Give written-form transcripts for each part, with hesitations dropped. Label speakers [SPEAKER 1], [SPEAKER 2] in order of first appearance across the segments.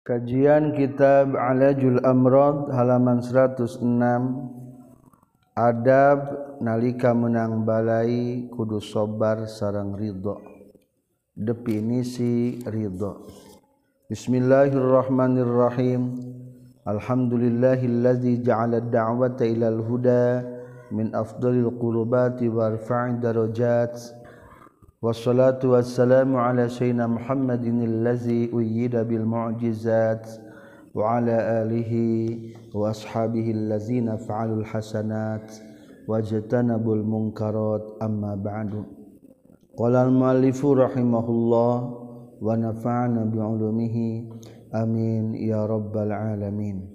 [SPEAKER 1] Kajian Kitab Alajul Amrad halaman 106. Adab nalika menang balai kudu sabar sareng ridho. Definisi ridho. Bismillahirrahmanirrahim. Alhamdulillahillazi ja'ala ad-da'wata ilal huda min afdalil qurubati wa arfa'id darajat. Wassalatu wassalamu ala sayyidina Muhammadin allazi uyyida bil mu'jizat wa ala alihi wa ashabihi allazina fa'alul hasanat wajtanabul munkarat amma ba'du. Qala al-muallifu rahimahullah wa nafa'ana bi 'ulumihi amin ya rabbal alamin.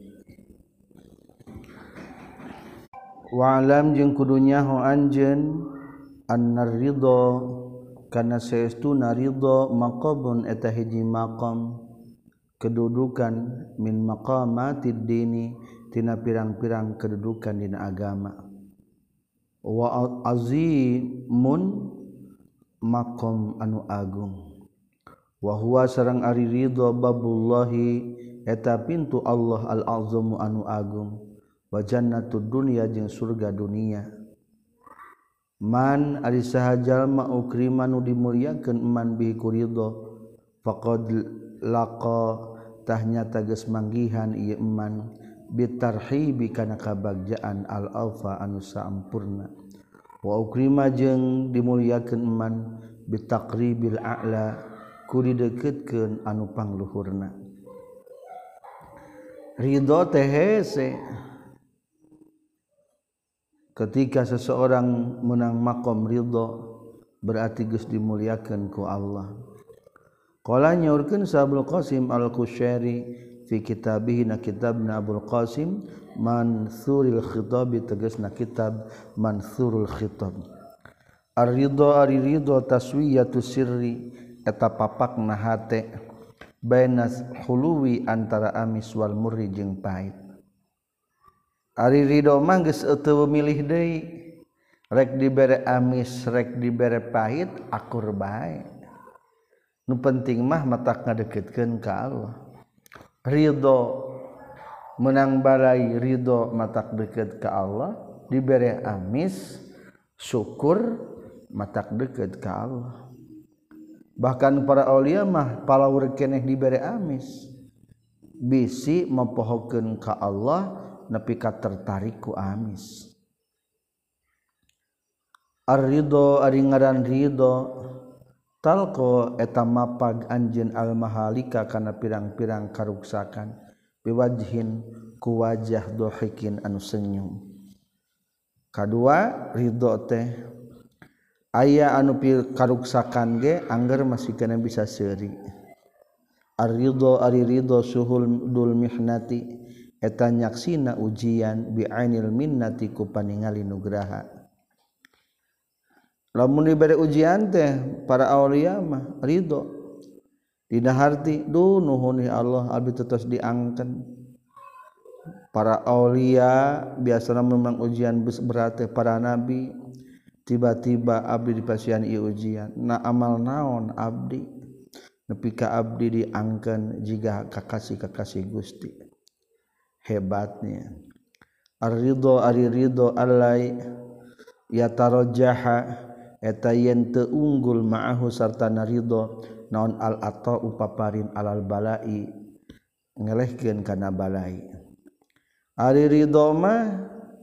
[SPEAKER 1] Wa alam jeung kudu nyaho anjeun annar ridha karena saestuna ridha maqamun eta hiji maqam kedudukan min maqamatid dini tina pirang-pirang kedudukan dina agama wa azimun maqam anu agung wa huwa sareng ari ridha babullahi eta pintu Allah al-azamu anu agung wa jannatud dunya jeung surga dunia. Man ari saha jalma ukrima nu dimulyakeun man bi kuridho faqad laqa tahnyata geus manggihan ieu man bitarhibi kana kabagjaan al alfa anu sampurna wa ukrima jeung dimulyakeun man bitaqribil a'la ku dideukeutkeun anu pangluhurna. Ridho teh hese ketika seseorang menang maqam ridho berarti geus dimuliakeun ku Allah. Qala nyaurkeun Abul Qasim Al-Qushayri fi kitabih na kitabna Abul Qasim Mansurul Khitab tegasna kitab Mansurul Khitab. Ar-ridho ari ridho taswiyatu sirri eta papakna hate bainas huluwi antara amis wal murri jeung pahit. Ari ridho mah geus teu milih deui rek dibere amis rek dibere pahit akur bae nu penting mah matak ngadeukeutkeun ka Allah. Ridho menang balai ridho matak deukeut ka Allah dibere amis syukur matak deukeut ka Allah. Bahkan para aulia mah palaur keneh dibere amis bisi mempohokeun ka Allah nepi ka tertarik ku amis. Ar-ridho ari ngaran ridho talqo eta mapag anjeun al-mahalika kana pirang-pirang karuksakan biwajhin ku wajah dohikin anu senyum. Kadua ridho teh aya anu karuksakan ge angger masih kana bisa seuri. Ar-ridho ari ridho suhul dul mihnati eta nyaksina ujian bi ainil minnati ku paningali nugraha. Lamun dibere ujian teh para aulia mah ridho dina harti duh nuhun ya Allah abdi tetos diangkeun. Para aulia biasana memang ujian berat teh para nabi tiba-tiba abdi dipasihan ieu ujian na amal naon abdi nepi ka abdi diangkeun jiga kakasih-kakasih Gusti. Hebatnya ar-ridho ari ridho allai yatarajjaha eta yen teu unggul ma'ahu sartana ridho naon al-ata upaparin alal balai ngelehkeun kana balai. Ari ridho mah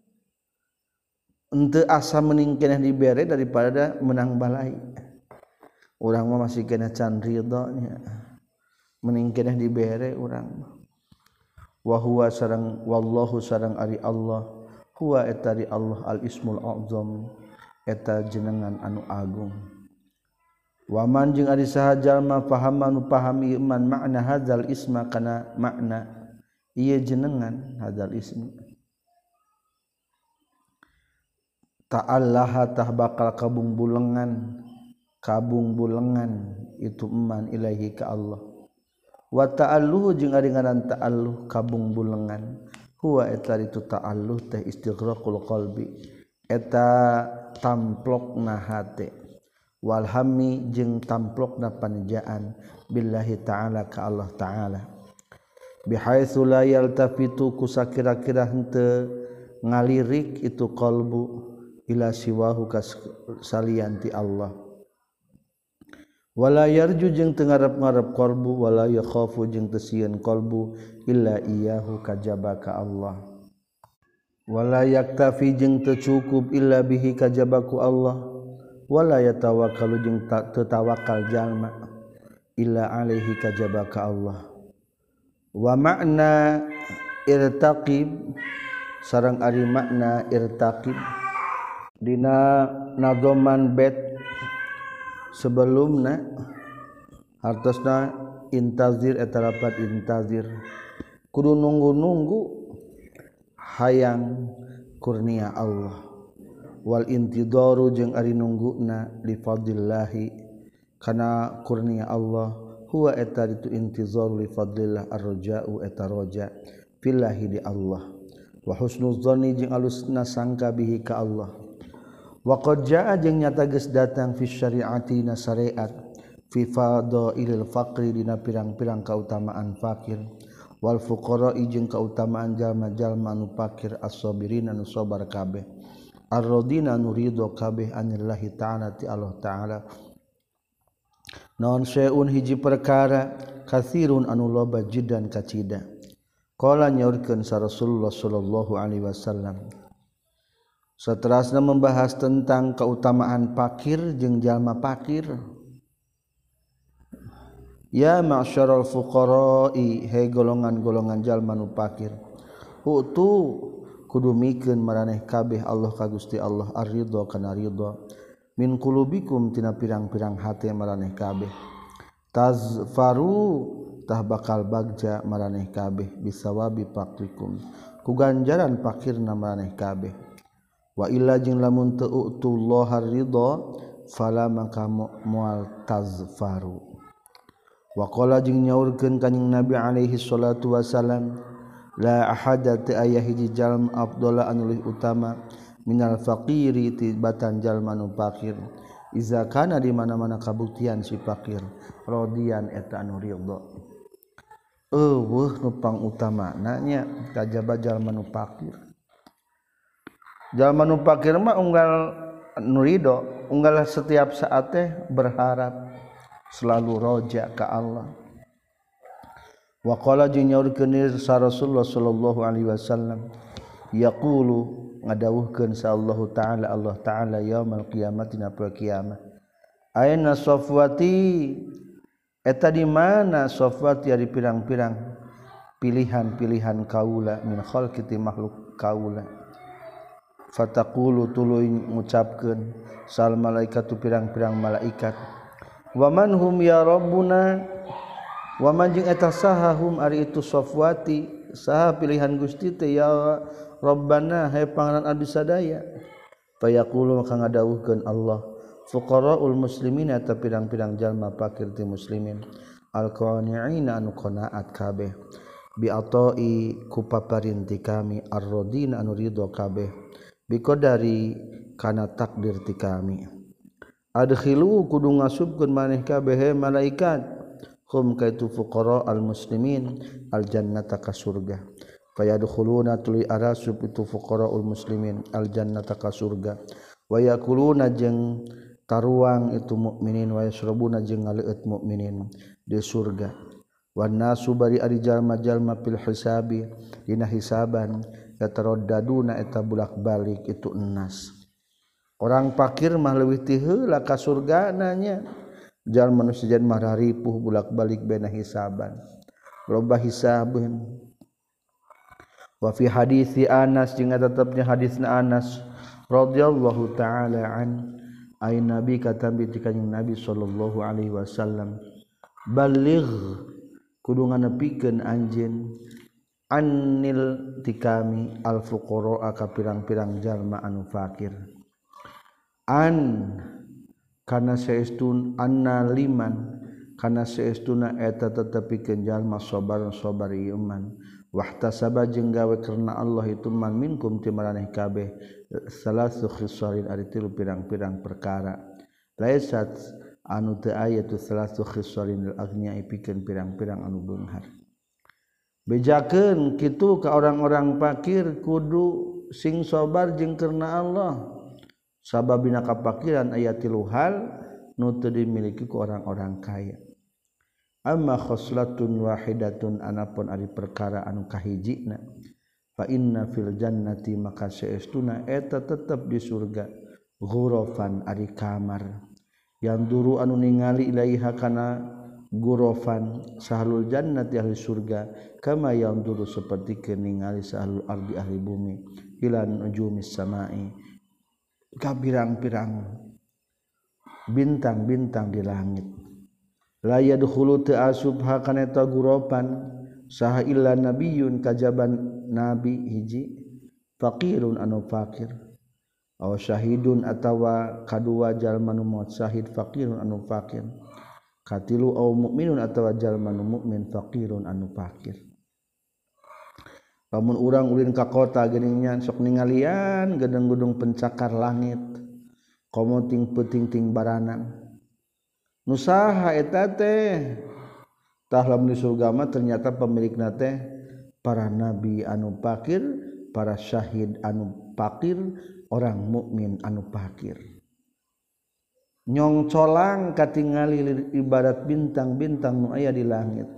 [SPEAKER 1] henteu asa mending keneh dibere daripada menang balai. Urang mah masih keneh can ridho nya mending keneh dibere urang mah. Wa huwa sareng wallahu sareng ari Allah huwa eta ari Allah al ismul a'zam eta jenengan anu agung. Wa man jeung ari saha jalma paham anu pahami iman makna hadzal isma kana makna ieu jenengan hadzal ism ta'allaha tah bakal kabung bulengan itu iman ilahi ka Allah. Wa ta'alluhu jeung ari ngaran ta'alluh kabung bulengan huwa eta itu ta'alluh teh istighraqul qalbi eta tamplokna hate wal hammi jeung tamplokna panjaan billahi ta'ala ka Allah ta'ala bihaitsu la yaltafitu kusakira-kira henteu ngalirik itu qalbu ila siwahu kasalianti Allah wala yarju jeung teu ngarep-ngarep qalbu wala yakhafu jeung teu sieun qalbu illa iyyahu kajaba ka Allah wala yaktafi jeung teu cukup illa bihi kajaba ku Allah wala yatawakkalu jeung teu tawakal jalma illa alaihi kajaba ka Allah wa makna irtaqib sareng ari makna irtaqib dina nadoman bet sebelumna hartosna intazir eta lapat intazir kudu nunggu-nunggu hayang kurnia Allah wal intidaru jeung ari nungguna li fadlillahi kana kurnia Allah huwa eta itu intizaru li fadlillah ar-raja'u eta raja fillahi di Allah wa husnuz dzanni jeung alusna sangka bihi ka Allah wa qad jaa jeung nyata geus datang fi syari'ati na syariat fi fadailil faqri dina pirang-pirang kautamaan fakir wal fuqara'i jeung kautamaan jalma-jalma anu fakir as-sabirin anu sabar kabeh ar-radina anu ridho kabeh anillahi ta'ala ti Allah ta'ala naon syai'un hiji perkara katsirun anu loba jiddan kacida qala nyaurkeun sa Rasulullah sallallahu alaihi wasallam saterasna membahas tentang keutamaan fakir jeung jalma fakir ya ma'syaral fuqara'i he golongan-golongan jalma nu fakir utu kudu mikeun maraneh kabeh Allah ka Gusti Allah ar-ridha kana ridha min qulubikum tina pirang-pirang hate maraneh kabeh tazfaru tah bakal bagja maraneh kabeh bisawabi fakrikum ku ganjaran fakirna maraneh kabeh wa illa jeung lamun teu utullaha ridha fala maka moal tazfaru wa qala jeung nyaurkeun kanjing Nabi alaihi salatu wasalam la ahada ta aya hiji jalma afdala anu leuwih utama minal faqiri tibatan jalma nu fakir iza kana di mana-mana kabuktian si fakir radian eta anu ridha eueuh nu pangutamana nya kajaba jalma nu fakir jalma nu fakir mah unggal nu ridha unggal setiap saat teh berharap selalu roja ka Allah wa qala jeung nyaurkeun sa Rasulullah sallallahu alaihi wasallam yaqulu ngadawuhkeun sa Allah taala yaumul qiyamati na poe kiamat aina safwati eta di mana safwati ari pirang-pirang pilihan-pilihan kaula min khalqi ti makhluk kaula fataqulu tuluy ngucapkeun sal malaikatu pirang-pirang malaikat wa man hum ya rabbuna wa man jeung eta saha hum ari itu safwati saha pilihan Gusti teh ya Rabbana hai pangaran abdi sadaya fayaqulu maka ngadawuhkeun Allah fuqaraul muslimin eta pirang-pirang jalma fakir ti muslimin alqani'ina anu qanaat kabeh bi atai ku paparinti kami ar-radin anu ridho kabeh bi qadari kana takdir ti kami adkhilu kudu ngasubkeun maneh kabeh malaikat hum kaitu fuqara al muslimin al jannata ka surga fayadkhuluna tuli arasub itu fuqaraul muslimin al jannata ka surga wa yakuluna jeung taruang itu mukminin wa yasrabuna jeung ngaleut mukminin di surga wan nasu bari ari jalma-jalma fil hisabi dina hisaban yataraddaduna eta bulak-balik itu enas orang fakir mah leuwih ti heula ka surgana nya jalma nu sejen mah ripuh bulak-balik baina hisaban loba hisabeun wa fi hadisi Anas jeung tetepnya hadisna Anas radhiyallahu taala an ay nabi katambi ti kanjing Nabi sallallahu alaihi wasallam baligh kudu nganepikeun anjeun annil ti kami al fuqara ka pirang-pirang jalma anu fakir an kana saestun anna liman kana saestuna eta tetepikeun jalma sabar iman wahtasaba jeung gawe karena Allah itu man minkum ti maraneh kabeh salasu khisalin ari tilu pirang-pirang perkara laisat anu teu aya tu salasu khisalin al agnya pikeun pirang-pirang anu beunghar bejakeun kitu ka orang-orang fakir kudu sing sabar jeung karna Allah sababina kapakiran aya 3 hal nu teu dimiliki ku orang-orang kaya amma khoslatun wahidatun anapun ari perkara anu kahijina fa inna fil jannati maka saestuna eta tetep di surga ghurafan ari kamar yang duru anu ningali ilaiha kana gurofan sahlul jannati ahli surga kama yang dulu seperti ningali sahlul ardi ahli bumi ilan nujumis samai ka pirang-pirang bintang-bintang di langit la yadkhulu ta'asubha kana ta gurofan saha illa nabiyyun kajaban nabi hiji faqirun anu fakir aw syahidun atawa kadua jalma nu maut syahid faqirun anu fakir katilu au mukminun atawa jalma nu mukmin faqirun anu fakir lamun urang ulin ka kota geuning nya sok ningalian gedung-gedung pencakar langit komo ting peuting-ting baranang nu saha eta teh tah lamun di surga mah ternyata pemilikna teh para nabi anu fakir para syahid anu fakir orang mukmin anu fakir nyong colang katingali ibarat bintang-bintang nu aya di langit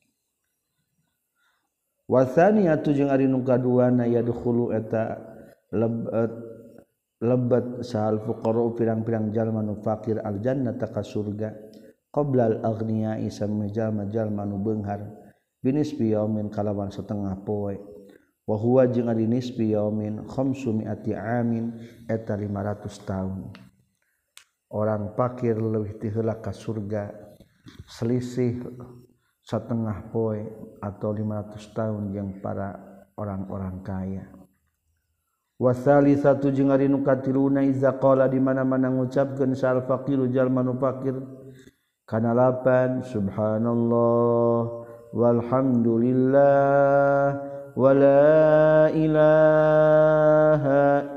[SPEAKER 1] wasaniyatu jeung ari nu kaduana yadkhulu eta lebat sahal fuqara pirang-pirang jalma nu fakir aljannata ka surga qabla al aghniyai samma jalma nu beunghar binisbi yaumin kalawan setengah poe wa huwa jeung ari nisbi yaumin 500 amin eta 500 tahun orang fakir leuwih ti heula ka surga selisih setengah poe atau 500 tahun yang para orang-orang kaya. Wasalisatu jeung ari nu katiluna iza qala di mana-mana ngucapkeun sal faqiru jalma nu fakir kana lapan subhanallah walhamdulillah wala ilaha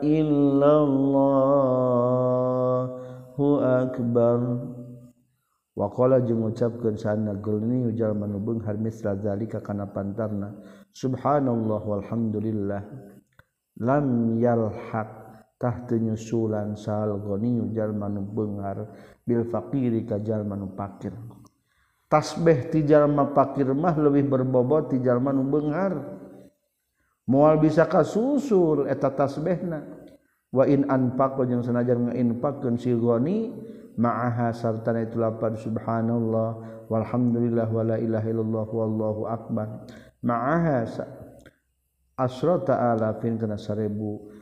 [SPEAKER 1] illallah akbar wa qala jeung ngucapkeun sana gulni jalma nu beunghar misra zalika kana pantarna subhanallah walhamdulillah lam yalhaq tahtu nyusulan sal goni jalma nu beunghar bil faqiri ka jalma nu fakir tasbih ti jalma fakir mah leuwih berbobot ti jalma nu beunghar moal bisa kasusul eta tasbihna wa in anfaqo jeung sanajan ngainfaqkeun si ghani ma'aha sartana itu lapan subhanallah walhamdulillah wala ilaha illallah wallahu akbar ma'aha asrata alafin kana 1000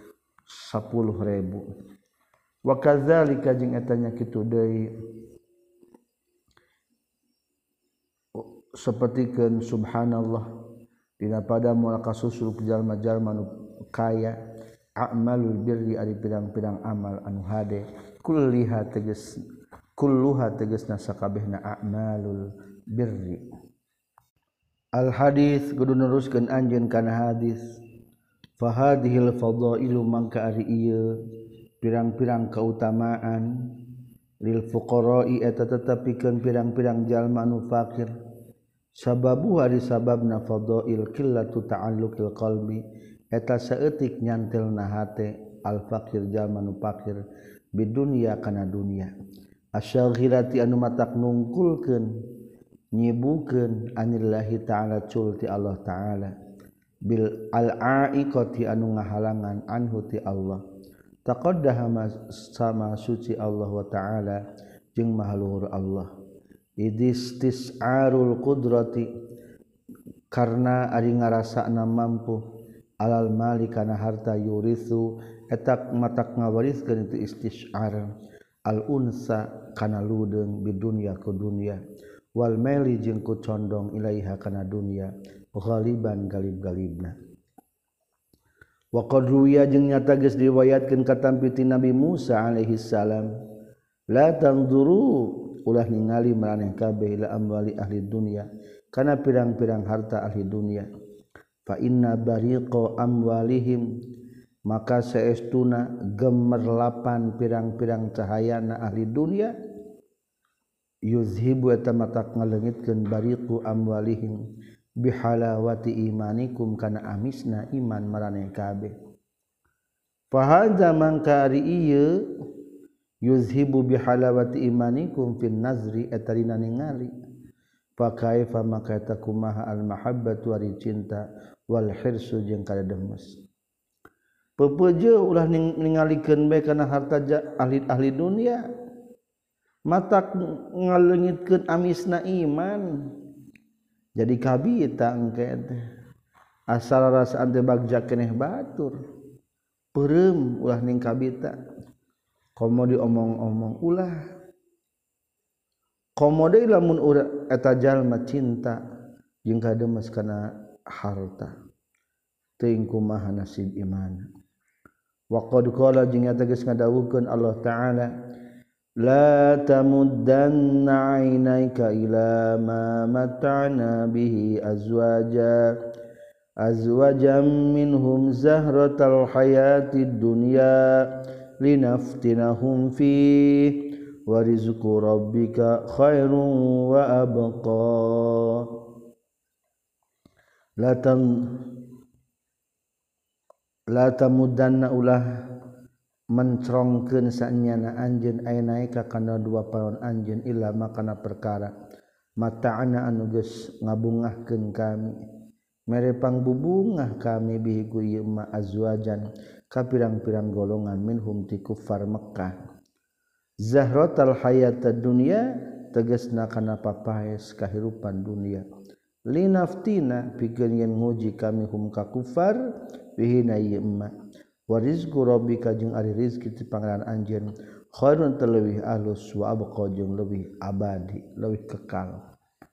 [SPEAKER 1] wa kadzalika jeung eta nya kitu deui sapertikeun subhanallah dina pada moal kasusul jalma-jalma nu kaya a'malul birri ari pirang-pirang amal anu hade kulluha tegesna sakabehna a'malul birri al hadis kudu neruskeun anjeun kana hadis fa hadhil fadailu mangka ari ieu pirang-pirang kautamaan lil fuqara'i eta tetepikeun pirang-pirang jalma anu fakir sababu hari sababna fadail qillatu ta'alluqil qalbi eta saeutik nyantelna hate al fakir jalma nu fakir bidunya kana dunya asyaghirati anu matak nungkulkeun nyibukeun anillahi ta'ala culti Allah ta'ala bil al-aiqati anu ngahalangan anhu ti Allah taqaddama sama suci Allah wa ta'ala jeung maha luhur Allah idistis'arul qudrati karna ari ngarasana mampu alal mali kana harta yurithu etak matak ngawariskeun itu istisyar al unsa kana ludeung bidunya ku dunya wal maili jeung ku condong ilaiha kana dunya ghaliban galib-galibna wa qad ruwiya jeung nyata geus diriwayatkeun katampi ti Nabi Musa alaihi salam la tanzuru ulah ningali maraneh kabeh ila amwali ahli dunya kana pirang-pirang harta ahli dunya fa inna bariqa amwalihim maka saestuna gemerlapan pirang-pirang cahayana ahli dunia yuzhibu eta matak ngaleungitkeun bariqu amwalihim bihalawati imanikum kana amisna iman maraneh kabeh fa hadza mangka ari ieu yuzhibu bihalawati imanikum fin nazri etarina ningali fa kaifa maka eta kumaha al mahabbatu ari cinta wal hirsu jeung kadademes pepeujeuh ulah ningalikeun bae kana harta ahli dunia matak ngaleungitkeun amisna iman jadi kabita engke teh asal rasaan teh bagja keneh batur peureum ulah ning kabita komo diomong-omong ulah komo deui lamun urang eta jalma cinta jeung kademes kana harta teuing kumaha nasib iman wa qad qala jeung eta geus ngadawuhkeun Allah taala la tamuddanna 'ainaika ila ma mata'na bihi azwajan minhum zahratal hayatid dunya linaftinahum fi wa rizqu rabbika khairun wa abqa la tamuddanna ulah mencrongkeun saenyana anjeun ainaika kana dua paon anjeun illa makana perkara mata'ana anu geus ngabungahkeun kami mere pangbubungah kami bihi ku ieu ma azwajan ka pirang-pirang golongan minhum ti kuffar Mekkah zahratal hayatad dunya tegasna kana papaes kahirupan dunia linaftina pikeun yen nguji kami hum ka kuffar bihi na ieu ma wa rizqu rabbika jeung ari rizki ti pangaran anjeun khairun terlebih alus wa abqa jeung leuwih abadi leuwih kekal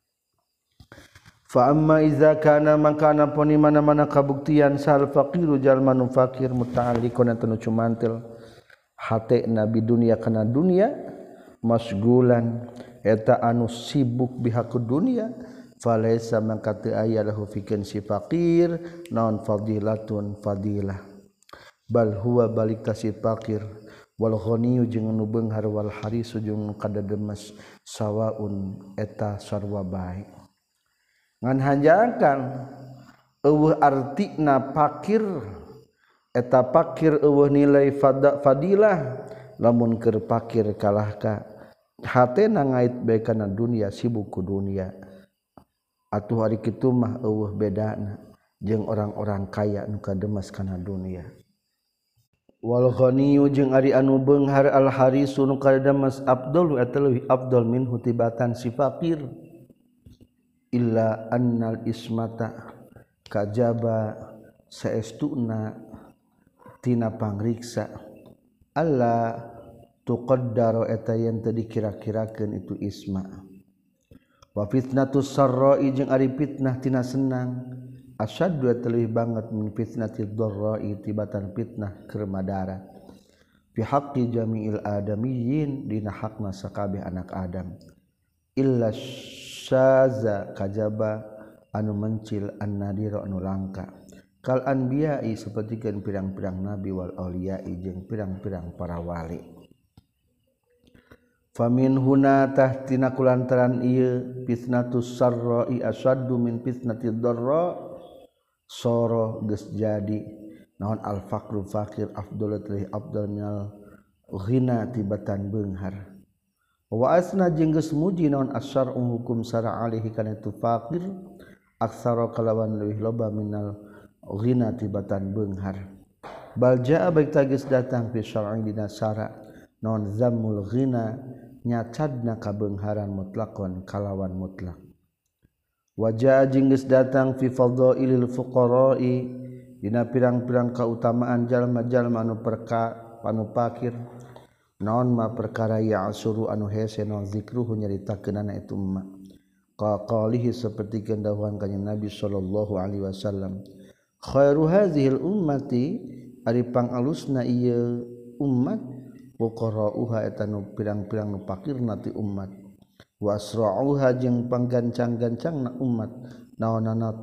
[SPEAKER 1] fa amma iza kana mangkana poni mana-mana kabuktian sal faqiru jalma nu fakir muta'alliqun anu cumantel hate nabi dunia kana dunia masgulan eta anu sibuk bihaku dunia falaisa mangka teu aya lahu fikeun si fakir naon fadilatun fadilah bal huwa balik ka si fakir wal ghaniyu jeung nu beunghar wal harisu jeung kadademes sawaun eta sarua bae ngan hanjakan eueuh artina fakir eta fakir eueuh nilai fadilah lamun keur fakir kalah ka hatena ngait bae kana dunia sibuk ku dunia atuh ari kitu mah eueuh bedana jeung orang-orang kaya nu kademes kana dunia wal ghaniyu jeung ari anu beunghar al harisu nu kademes afdalu eta leuwih afdal minhu tibatan si fakir illa annal ismata kajaba saestuna tina pangriksa alla tuqaddaru eta yen teu dikira-kirakeun itu isma wa fitnatus sarra'i jeung ari fitnah tina senang asyaddu leuwih banget min fitnatid dharra'i tibatan fitnah keur madarat fi haqqi jami'il adamiyyin dina hakna sakabeh anak Adam illa syaza kajaba anu mencil an-nadira anu langka kal anbiya'i sapertikeun pirang-pirang nabi wal auliya'i jeung pirang-pirang para wali famin huna tahtina kulantaran ieu fitnatus sarra'i asyaddu min fitnatid dharra soro geus jadi naon al faqru fakir afdalu teh afdal minal ghina tibatan beunghar wa asna jeung geus muji naon asyar'u hukum syara' alaihi kana tu fakir aksara kalawan leuwih loba minal ghina tibatan beunghar bal jaa baik tagis datang fi syar'i dina syara' naon zammul ghina nyacadna kabeungharan mutlaqon kalawan mutlak wajah jeung geus datang fi fadhailil fuqara'i dina pirang-pirang kautamaan jalma-jalma anu fakir naon ma perkara ya asuru anu hese naon zikruhu nyaritakeunana itu emma qalihi saperti kendawuhan kanjeng Nabi sallallahu alaihi wasallam khairu hadzihil ummati ari pangalusna ieu ummat fuqara'uha eta nu pirang-pirang nu fakirna ti ummat wasra'uha jeung panggancang-gancangna umat naonana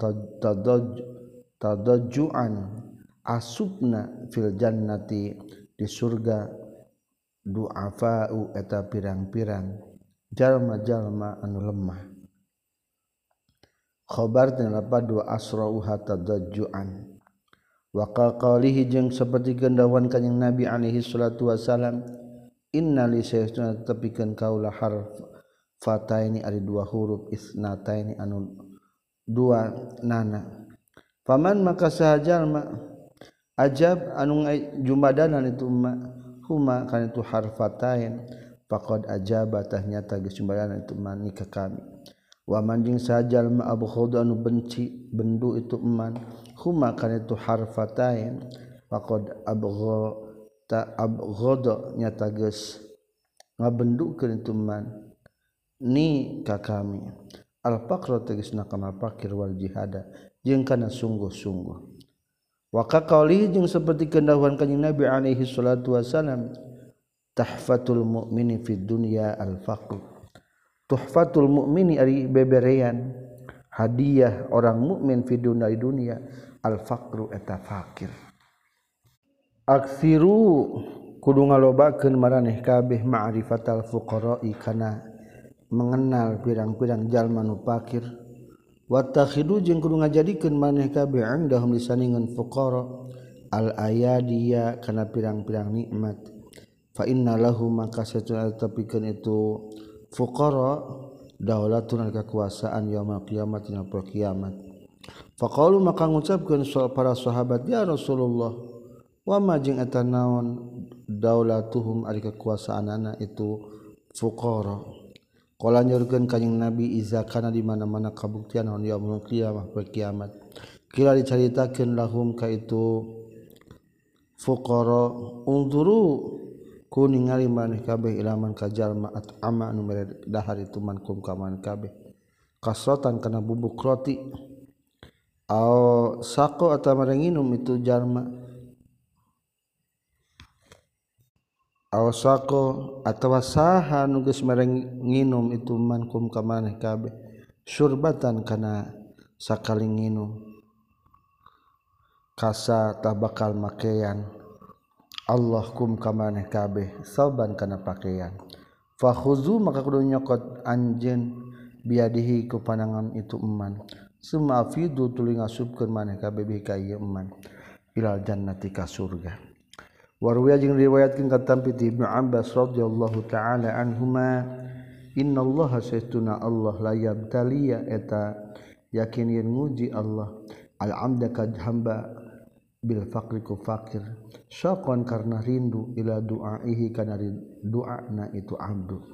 [SPEAKER 1] tadajjuan asubna fil jannati di surga du'afa'u eta pirang-pirang jalma-jalma anu lemah khobar tina lapad wa asrauha tadajjuan wa qalihi jeung saperti gendawan kanjing Nabi alaihi salatu wasalam inna li sayyidina tepikeun kaula harf fataini ari dua huruf isnataini anu dua nana paman maka sahajalma ajab anu jumadanan itu huma kana itu harfatain faqad ajaba tahnyata geus jumadanan itu man ka kami wa man jeung sahajalma abghadu anu benci bendu itu man huma kana itu harfatain faqad abghada nyata geus ngabendukeun itu man ni ka kami al-faqru tegasna kana fakir wal jihada jeung kana sungguh-sungguh wa qali jeung saperti kendahuan kanjing Nabi alaihi salatu wasalam tahfatul mu'mini fid dunya al-faqr tuhfatul mu'mini ari beberean hadiah orang mukmin fid dunya al-faqru eta fakir aksiru kudu ngalobakeun maraneh kabeh ma'rifatal fuqara'i kana mengenal pirang-pirang jalma nu fakir watakhidu jeung kudu ngajadikeun maneh kabeh indahum lisaningan fuqara al ayadiya kana pirang-pirang nikmat fa inna lahu maka satuna tapikeun itu fuqara daulatun kekuasaan yaumul qiyamah dina poe kiamat faqalu maka ngucapkeun para sahabat ya Rasulullah wa ma jeung eta naon daulatuhum ari kekuasaanana itu fuqara qala nyurkeun kanjing Nabi iza kana di mana-mana kabuktian naon yaumul qiyamah poe kiamat kira dicaritakeun lahum ka itu fuqara unzuru ku ningali maneh kabeh ilaman ka jalma at'ama anu mere dahar itu mankum ka man kabeh kasrotan kana bubuk roti au saqo atawa nginum itu jalma awasako atawa saha nu geus mereng nginum itu mankum ka maneh kabeh syurbatan kana sakali nginum kasa tabakal makean Allah kum ka maneh kabeh sauban kana pakaian fakhuzu maka kudu nyokot anjeun biadihi ku panangan itu eman summa afidu tuluy ngasupkeun maneh kabeh bi ka ieu eman ilal jannati ka surga warwiya jeung riwayatkeun ka tampi ti Ibnu Abbas radhiyallahu taala anhuma innallaha sayyiduna Allah la yabtaliya eta yakin yen nguji Allah al-'abda ka hamba bil faqri ku fakir syaqan karna rindu ila du'aihi kana doana itu abdu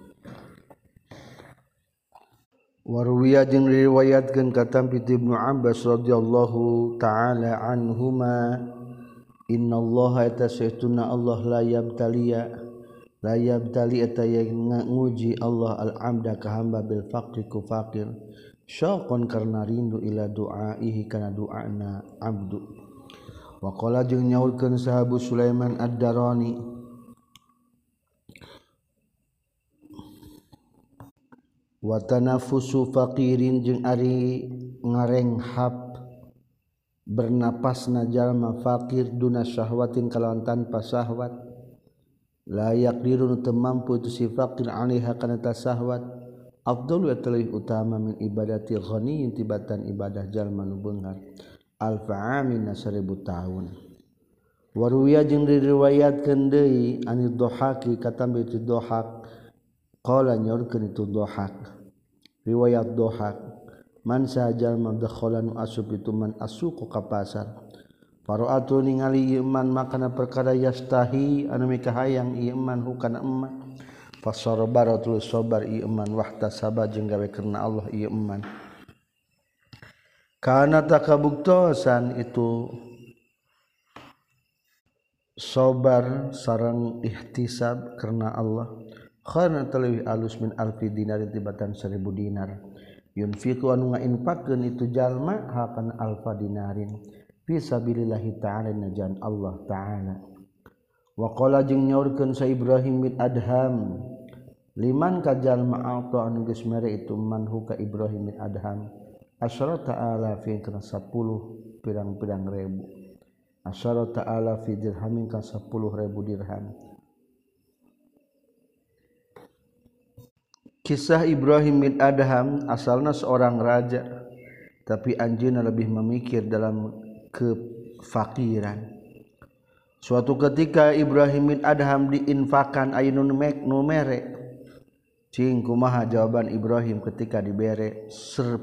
[SPEAKER 1] warwiya jeung riwayatkeun ka tampi ti Ibnu Abbas radhiyallahu taala anhuma innallaha eta sayyiduna Allah la yabtali eta yang nguji Allah al-'abda ka hamba bil faqri ku fakir syaqan karna rindu ila du'aihi kana doana abdu wa qala jeung nyaulkeun sahabu Sulaiman ad-Darani wa tanafusu faqirin jeung ari ngarenghap bernapasna jalma fakir duna syahwatin kalawan tanpa syahwat la yaqdirun teu mampu tu si fakir alaiha kana ta syahwat afdalu atalih utama min ibadati ghaniyin tibatan ibadah jalma nu beunghar alfa amin 1000 tahun waruwiya jeung diriwayatkeun deui ani Dhahaki katambi ti Dhahak qala nyorkeun itu Dhahak riwayat Dhahak man sajal madkhalan asub itu man asuq ka pasar paraatu ningali iman makana perkara yastahi anu mikahayang iman hukana eman fasarbaratul sabar iman wahtasaba jeung gawe karena Allah iman kana takabuktosan itu sabar sareng ihtisab karena Allah khana talwi alus min alfi dinar tibatan 1000 dinar yunfiqu anu ngainfaqkeun itu jalma hakan alfa dinarin fi sabilillahi ta'ala najan Allah ta'ala wa qala jeung nyaurkeun sa Ibrahim bin Adham liman ka jalma alta anu geus mere itu manhu ka Ibrahim bin Adham asyarata alafi kana 10 pirang-pirang ribu asyarata alafi dirhamin ka 10.000 dirham. Kisah Ibrahim bin Adham asalna seorang raja tapi anjeunna lebih memikir dalam kefakiran. Suatu ketika Ibrahim bin Adham diinfakan ayunun numere cing kumaha jawaban Ibrahim ketika dibere 10.000.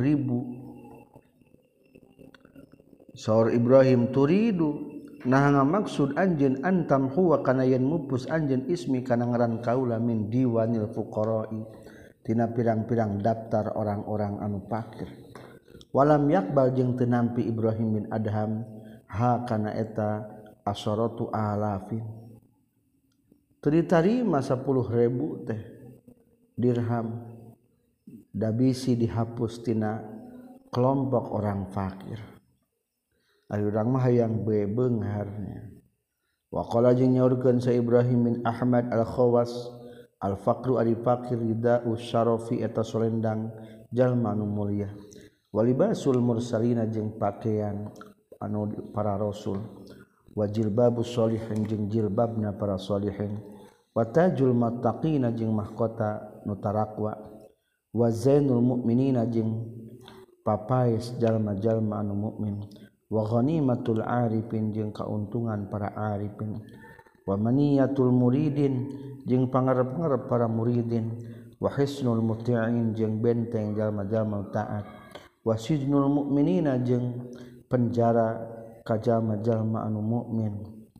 [SPEAKER 1] Saur Ibrahim turidu nah ngamaksud anjeun antam huwa kana yen mupus anjeun ismi kana ngaran kaula min diwanil fuqara'i tina pirang-pirang daftar orang-orang anu fakir. Walam yakbal jeung teu nampi Ibrahim bin Adham ha kana eta asharatu alafin. Teu ditarima 10.000 teh dirham da bisi dihapus tina kelompok orang fakir. Ari urang mah hayang beungarnya. Wa qala jeung nyaurkeun sa Ibrahim bin Ahmad al-Khawas al-faqru ari fakir ridau syarafi eta solendang jalma nu mulia. Walibasul mursalina jeung pakaian anu para rasul. Wa jilbabus sholihin jeung jilbabna para sholihin. Wa tajul muttaqina jeung mahkota nu tarakwa. Wa zainul mukminina jeung papaes jalma-jalma anu mukmin. Wa ghanimatul arifin jeung kauntungan para arifin. Wa maniyatul muridin jeung pangarep-ngarep para muridin. Wa hisnul muti'in jeung benteng jalma-jalma taat. Wa sijnul mukminina jeung penjara ka jalma-jalma anu mukmin.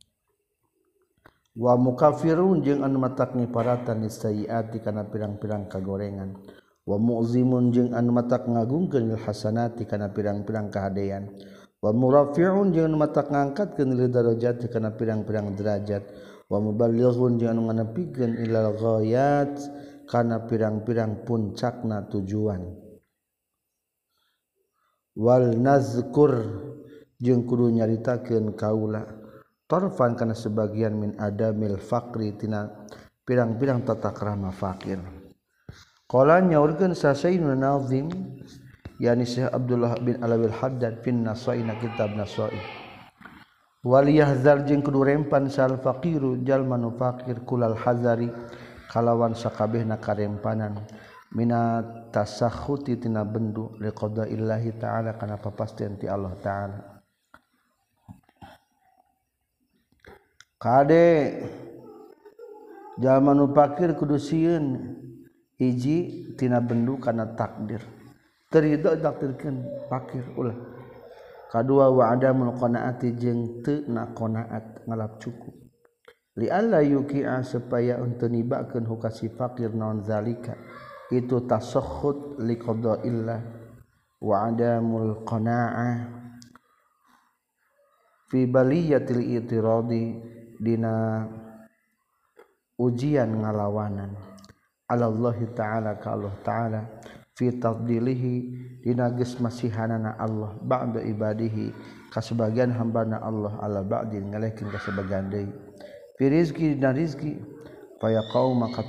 [SPEAKER 1] Wa mukafirun jeung anu matak niparatan nisayyiati kana pirang-pirang kagorengan. Wa mu'zimun jeung anu matak ngagungkeun hasanati kana pirang-pirang kahadean. Wa murafi'un jeung anu matak ngangkatkeun lil darajat kana pirang-pirang derajat. Wa muballighun jeung anu nganepikeun ilal ghayat kana pirang-pirang puncakna tujuan. Wal nazkur jeung kudu nyaritakeun kaula tarfan kana sebagian min adamil faqri tina pirang-pirang tata krama fakir. Qala nyaurkeun sa Sayyidina Nazim yani Syekh Abdullah bin Alawil Haddad fin Nasai na kitab Nasai. Wal yahzar jeung kudu rempan sal faqiru jalma nu fakir kulal hazari kalawan sakabehna karempanan minat tasakhuti tina bendu liqadaillahi ta'ala kana papastian ti Allah ta'ala. Kade jalma nu fakir kudu sieun hiji tina bendu kana takdir. Terido takdirkeun fakir ulah. Kadua wa adamul qanaati jeung teu na qanaat ngalap cukup. Li alla yuqi'a supaya untuk nibakeun hukasi fakir naon zalika itu tasakhut li qadaillah wa adamul qanaa'ah fi baliyatil itiradi dina ujian ngalawanan ala Allah ta'ala ka Allah ta'ala fi tafdilihi dina geus masihanana Allah ba'da ibadihi ka sebagian hambana Allah ala ba'din ngalehkeun ka sebagian deui fi rizqi dina rizqi fa yaqau maka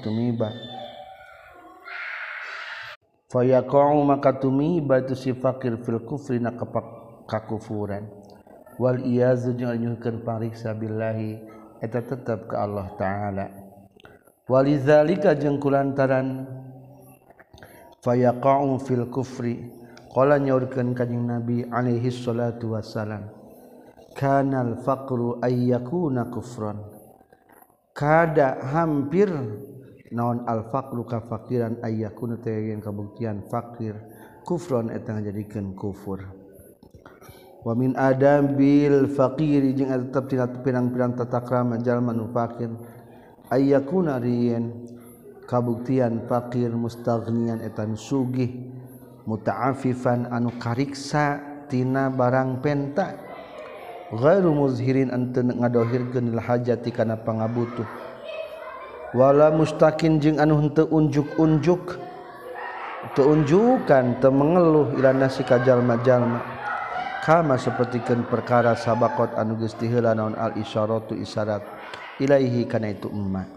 [SPEAKER 1] tumiba tu si fakir fil kufri na kakufuran wal iyazu jeung nyuhkeun pariksa billahi eta tetep ka Allah taala walizalika jeung kulantaran fayaqa'u fil kufri qala nyaurkeun kanjing Nabi alaihi salatu wassalam kanal faqru ayyakuna kufran kada hampir naon al faqru kafakiran ayyakuna teh yang kabuktian fakir kufran eta ngajadikeun kufur wa min adabil faqir jeung tetep tina pirang-pirang tata krama jalma nu fakir ayyakuna riyen kabuktian fakir mustaghnian etan sugih muta'affifan anu kariksa tina barang penta ghairu muzhirin ante ngadohirkeun hajati kana pangabutuh wala mustaqin jeung anu henteu unjuk-unjuk teu unjukan teu mengeluh ila nasi ka jalma-jalma kama sapertikeun perkara sabaqat anu geus tiheula naon al isyaratu isyarat ilaihi kana itu emma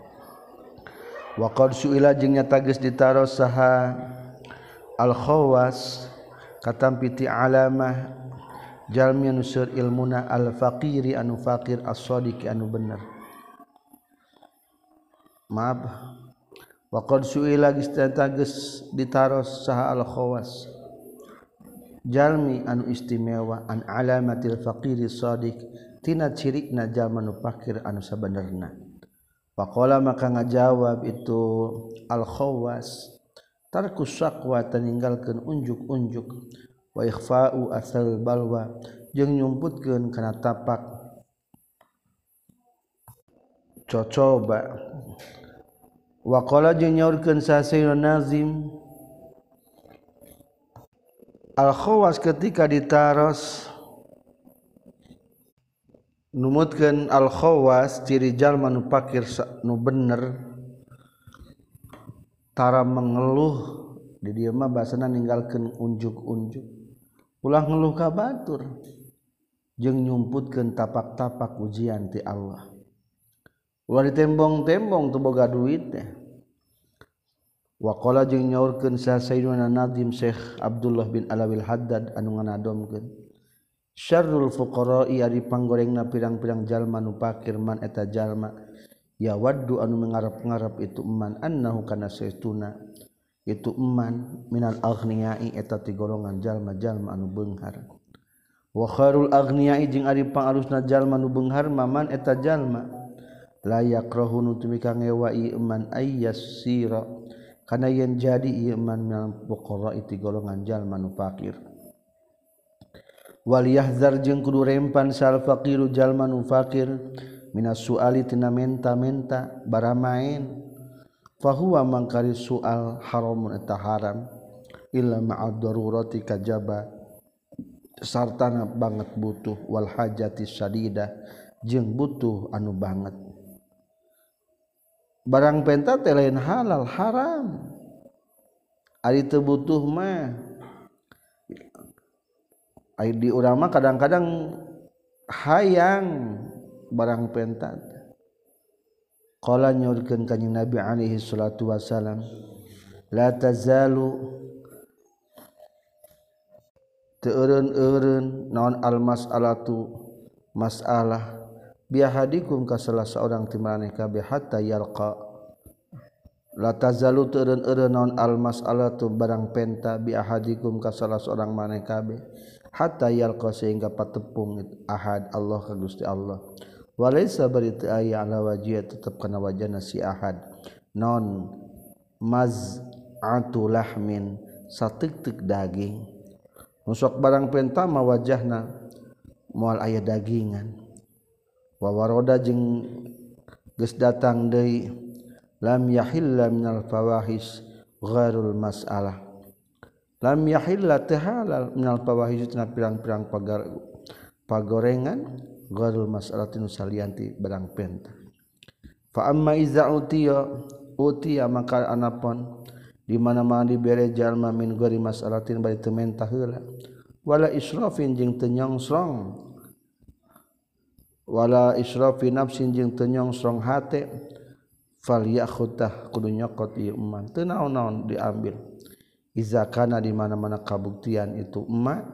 [SPEAKER 1] wa qad suila jeung nyata geus ditaros saha al khawas katampi ti alamah jalmi anu seur ilmuna al faqiri anu faqir as-sadiq anu bener maaf wa qad suila geus ditaros saha al khawas jalmi anu istimewa an alamatil faqiri shadiq tina cirikna jalma nu fakir anu sabenerna. Faqala maka ngajawab itu al khawas tarkus syaqwa taninggalkeun unjuk-unjuk wa ikhfa'u asal balwa jeung nyumputkeun kana tapak cocoba. Wa qala jeung nyaurkeun sa Sayyidun Nazim al khawas ketika ditaros numutkeun al khawas ciri jalma nu fakir nu bener tara mengeluh di dieu mah basana ninggalkeun unjuk-unjuk ulah ngeluh ka batur jeung nyumputkeun tapak-tapak ujian ti Allah. Ulah ditembong-tembong teu boga duit teh. Wa qala jeung nyaurkeun sa Sayyiduna Nadim Syekh Abdullah bin Alawil Haddad anu nganadomkeun syarrul fuqara'i ari panggorengna pirang-pirang jalma nu fakir man eta jalma ya waddu anu mengarep-ngarep itu eman annahu kana saestuna itu eman minal aghniyai eta ti golongan jalma-jalma anu beunghar. Wa khairul aghniyai jeung ari pangarusna jalma nu beunghar man eta jalma la yakrahu nu teu mika ngewa ieu eman ayyasira kana yen jadi ieu eman minal fuqara itu golongan jalma nu fakir. Wal yahzar jeung kudu rempan sal faqiru jalma nu fakir minas suali tina menta-menta baramain fahuwa mangkari soal haramun eta haram illa ma'ad darurati kajaba sartana banget butuh wal hajati syadidah jeung butuh anu banget. Barang penta teh lain halal haram ari teu butuh mah ai di urang mah kadang-kadang hayang barang penta. Qala nyorkeun kanjing Nabi alaihi salatu wasalam la tazalu teu eureun naon al mas'alatu masalah biahadikum ka salah seorang ti maneh kabeh hatta yalqa la tazalu teu eureun naon al mas'alatu barang penta biahadikum ka salah seorang maneh kabeh hatta yalqa sehingga patepung ahad Allah ka Gusti Allah. Walaysa bari teu aya ala wajih tetep kana wajahna si ahad non maz'atu lahmin sateuk-teuk daging nu sok barang penta mah wajahna moal aya dagingan. Wa waroda jeung geus datang deui lam yahilla minal fawahis ghairul mas'alah lam yahilla teu halal minal fawahis tina pirang-pirang pagorengan ghairul mas'alatin salianti barang penta. Fa amma iza utiya maka anapun di mana-mana dibere jalma min ghairi mas'alatin bari teu menta heula wala israfin jeung teu nyongsrong wala israfi nafsin jeung teu nyongsrong hate fal yakhutah kudu nyokot ieu eman teu naon-naon diambil iza kana di mana-mana kabuktian itu emak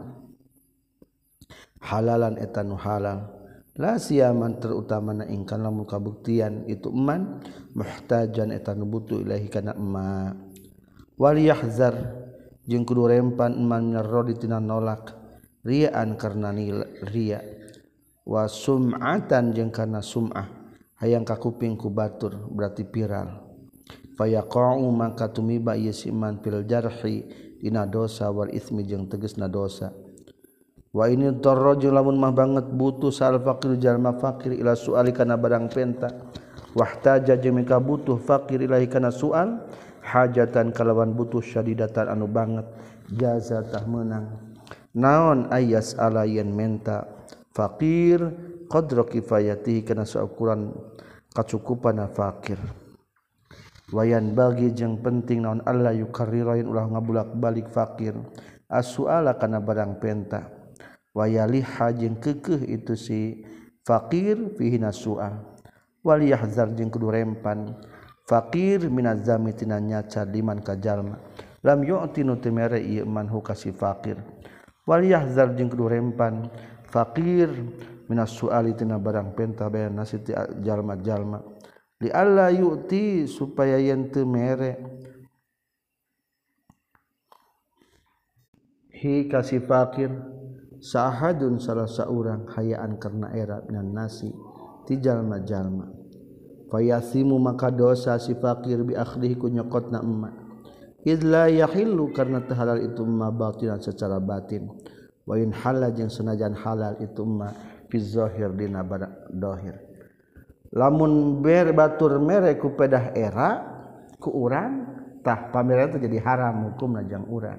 [SPEAKER 1] halalan eta nu halal la siyaman terutamana ingkang lamun kabuktian itu eman muhtajan eta nu butuh ilahi kana emak. Wal yahzar jeung kudu rempan eman minarrodi tina nolak riaan karna ria wa sum'atan jeung kana sum'ah hayang kakuping ku batur berarti viral fayaqa'u maka tumiba ieu si iman fil jarhi dina dosa wal ismi jeung tegasna dosa. Wa ini darra jeung lamun mah banget butuh sal faqir jalma fakir ila suali kana barang penta wahtaja jeung mika butuh fakir ilahi kana sual hajatan kalawan butuh syadidatan anu banget jaza tah meunang naon ayas ala yen menta fakir qadra kifayatihi kana saukuran kacukupana fakir. Wayan bagi jeung penting naon Allah yukarrirain ulah ngabulak-balik fakir as-suala kana barang penta wayalih jeung keukeuh itu si fakir fihi nasual wal yahzar jeung kudu rempan fakir minazami tina nyaca liman ka jalma lam yu'ti nu teu mere ieu man hu ka si fakir wal yahzar jeung kudu rempan fakir minas suali tina barang penta bayan nasi ti jalma-jalma li alla yu'ti supaya yen teu mere hi kasih fakir sahadun salah seorang hayaan karena era minan nasi ti jalma-jalma fayasimu maka dosa si fakir bi akhdihi ku nyokotna emak idla yahillu karena halal itu emak batinan secara batin wa in halal jeung senajan halal itu emak fi zahir dina dohir lamun ber batur mere ku pedah era ku urang tah pamere itu jadi haram hukumna jang urang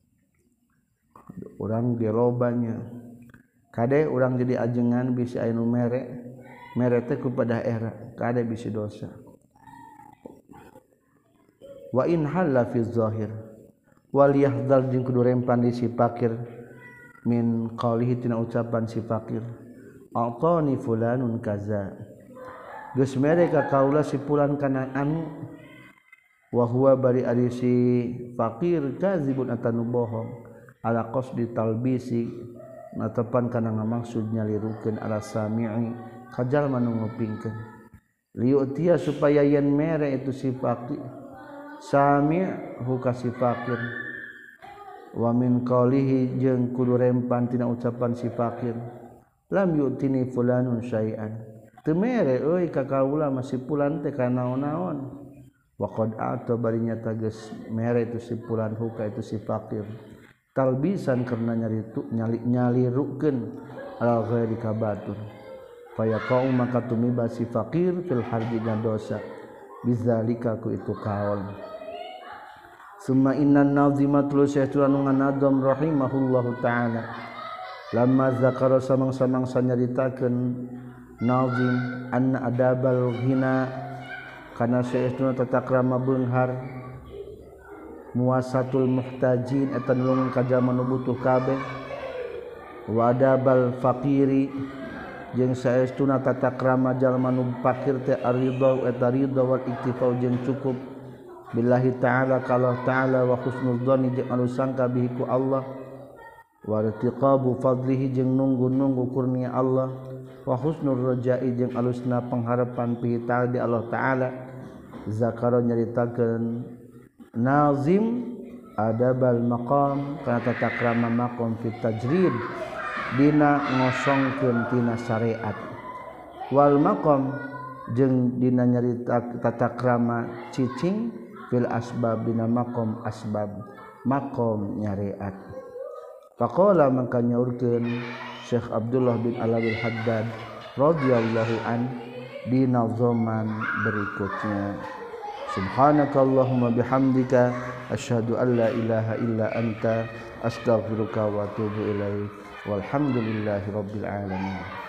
[SPEAKER 1] dirobanya kade urang jadi ajengan bisi anu mere teh ku pedah era kade bisi dosa wa in halla fi zahir wal yahdal jeung kudu rempan di si fakir min qaulihi tina ucapan si fakir a'tani fulanun kaza geus mere ka kaula si fulan kana anu wa huwa bari ari si fakir kadzibun atanu bohong ala qasdi talbisi natepan kana ngamaksud nyalirukeun ala sami'i kajal manu ngupingkeun liutia supaya yen mere itu si fakir sami' hu ka si fakir wa min qaulihi jeung kudu rempan tina ucapan si fakir lam yu'tini fulanun syai'an teu mere euy ka kaula masih pulan teh kana naon-naon wa qad a'ta barinya tages mere itu si pulan huka itu si fakir talbisan karena nyalirukeun ala ghairi kabatur fayaqau maka tumiba si fakir fil harbi dosa bizalika ku itu kaul summa innan nazima tulus saytulan nganadom rahimahullahu taala lamma zakara samang-samang sanyaritakeun nazim anna adabal ghina kana saytuna tata krama beunghar muasatul muhtajin eta nulungan ka jalma nu butuh kabeh wa adabal faqiri jeung saestuna tata krama jalma nu fakir teh aridha eta ridha wal iktifau jeung cukup billahi taala ka Allah taala wa husnul dzanni jeung anu sangka bihi ku Allah wa irtiqabu fadlihi jeung nunggu-nunggu kurnia Allah wa husnul raja'i jeung alusna pengharapan fi ta'ala di Allah taala zakara nyaritakeun nazim adabal maqam kana tata krama maqam fi tajrid dina ngosongkeun tina syariat wal maqam jeung dina nyarita tata krama cicing fil asbab dina maqam asbab maqam nyariat faqala maka nyaurkeun Syekh Abdullah bin Alawi Haddad radhiyallahu an di nazaman berikutnya subhanakallahumma bihamdika asyhadu an la ilaha illa anta astaghfiruka wa atubu ilaik walhamdulillahi rabbil alamin.